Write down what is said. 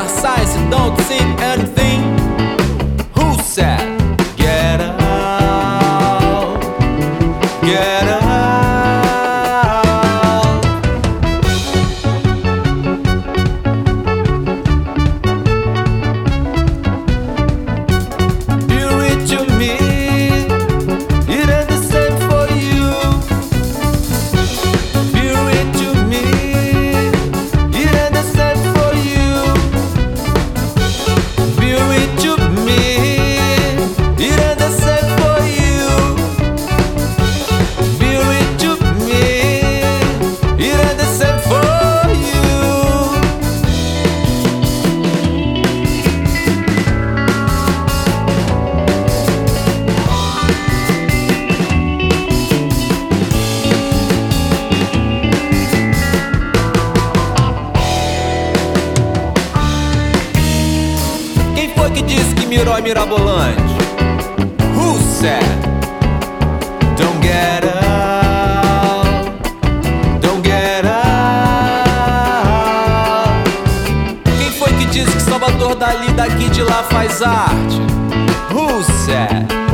science and don't see anything. Who said get out, get out? You read to me, it ain't the same for you. You read to me, it ain't the same for you. You read to me, it ain't the same for you. You read to me, it ain't the same for you. Quem foi que disse que Miró é mirabolante? Who said don't get out, don't get out? Quem foi que disse que Salvador Dali daqui de lá faz arte? Who said